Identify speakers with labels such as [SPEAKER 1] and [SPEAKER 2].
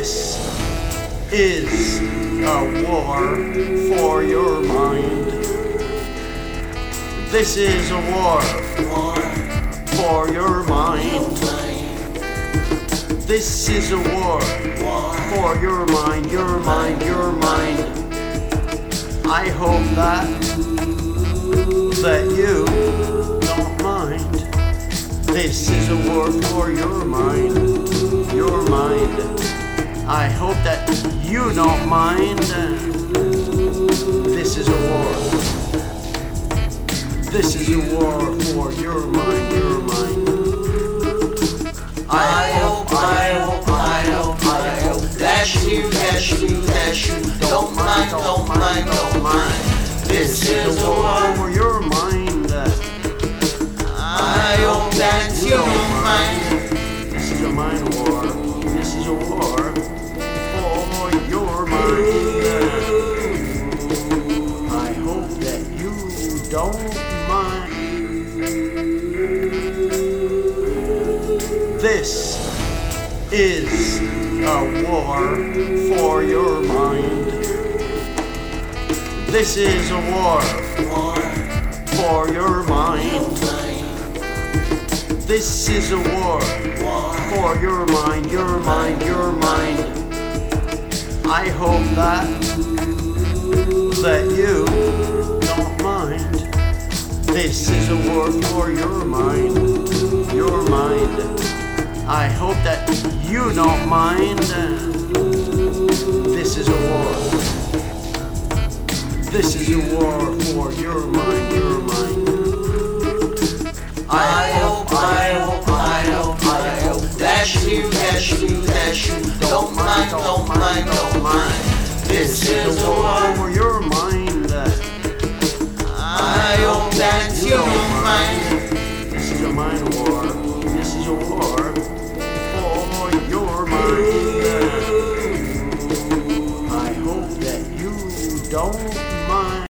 [SPEAKER 1] This is a war for your mind. This is a war for your mind. This is a war for your mind, your mind, your mind. I hope that you don't mind. This is a war for your mind, your mind. I hope that you don't mind. This is a war. This is a war for your mind, your mind.
[SPEAKER 2] I hope that you don't mind.
[SPEAKER 1] This is a war for your mind.
[SPEAKER 2] I hope that you don't mind.
[SPEAKER 1] This is a mind war. This is a war for your mind. I hope that you don't mind. This is a war for your mind. This is a war for your mind. This is a war for your mind, your mind, your mind. I hope that you don't mind. This is a war for your mind, your mind. I hope that you don't mind. This is a war. This is a war for your mind, your mind.
[SPEAKER 2] I hope